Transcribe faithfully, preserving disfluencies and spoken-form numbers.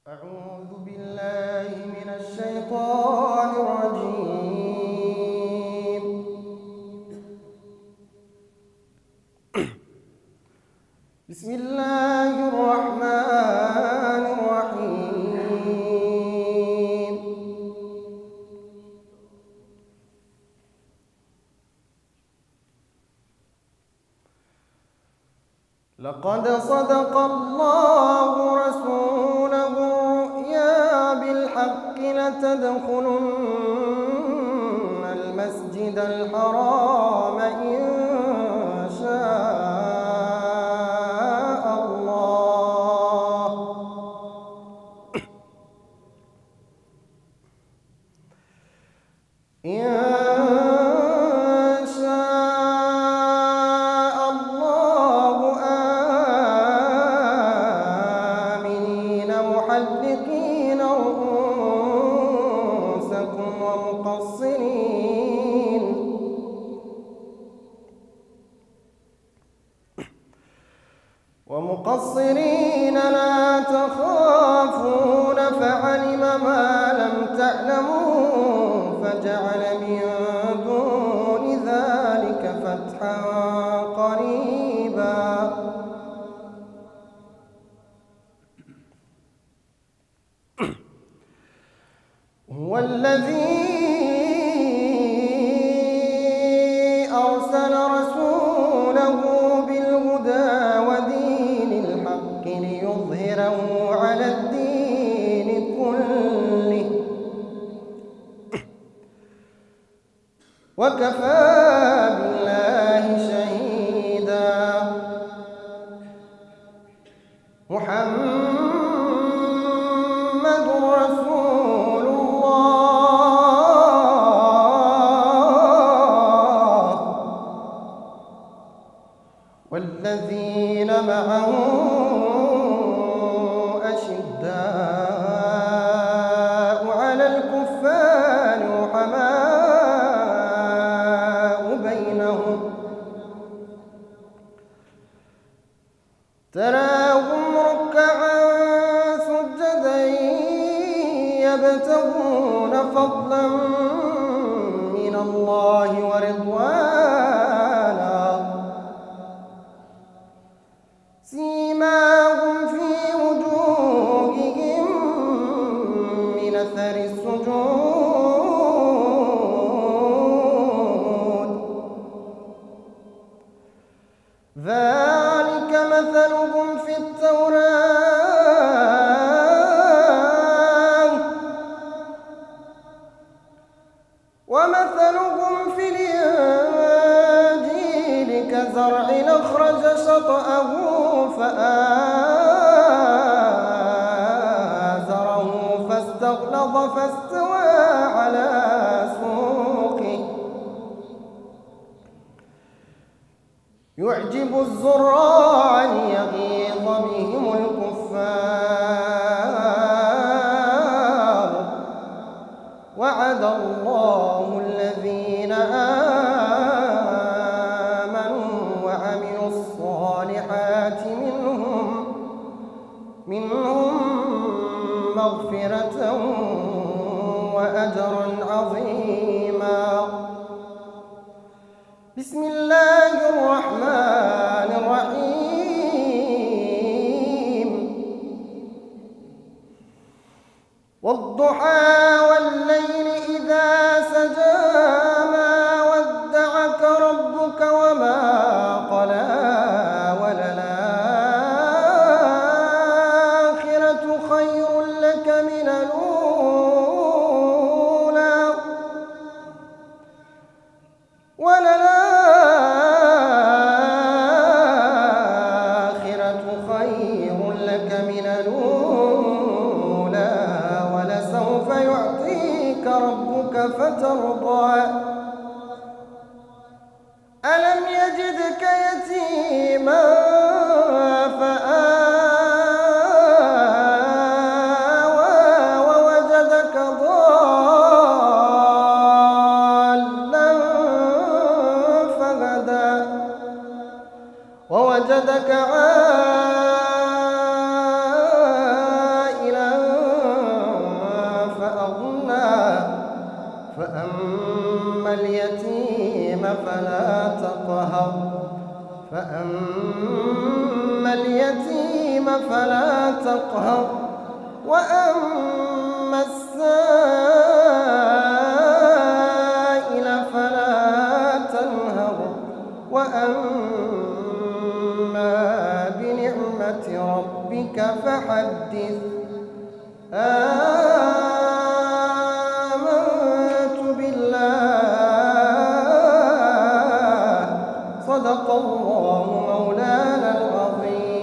أعوذ بالله من الشيطان الرجيم. بسم الله الرحمن الرحيم. لقد صدق الله رسوله الرؤيا بالحق لتدخلن المسجد الحرام إن شاء الله إن محلقين رؤوسكم ومقصرين ومقصرين لا تخافون فعلم ما لم تعلموا فجعل من دون ذلك فتحا قريبا. هو الذي أرسل رسوله بالهدى ودين الحق ليظهره على الدين كله وكفى بالله شهيدا. محمد رسول والذين معه أشداء على الكفار رحماء بينهم تراهم ركعا سجدا يبتغون فضلا من الله ورضوانا سيماهم في وجوههم من أثر السجود ذلك مثلهم في التوراة ومثلهم في الإنجيل كزرع أخرج شطأه فآزره فاستغلظ فاستوى على سوقه يعجب الزراع ليغيظ بهم الكفار. وعد الله الذين آمنوا وعملوا الصالحات منهم منهم مغفرة وأجرا عظيما. بسم الله الرحمن الرحيم. والضحى والليل إذا سجى ما ودعك ربك وما قلى وللآخرة خير لك من الأولى وللآخرة خير لك من الأولى ولسوف يعطيك ربك فترضى. ألم يجدك يتيما فآوى ووجدك ضالا فهدى ووجدك عائلا فلا تقهر فأما اليتيم فلا تقهر وأما السائل فلا تنهر وأما بنعمة ربك فحدث. آمنت بالله صدق الله مولانا العظيم.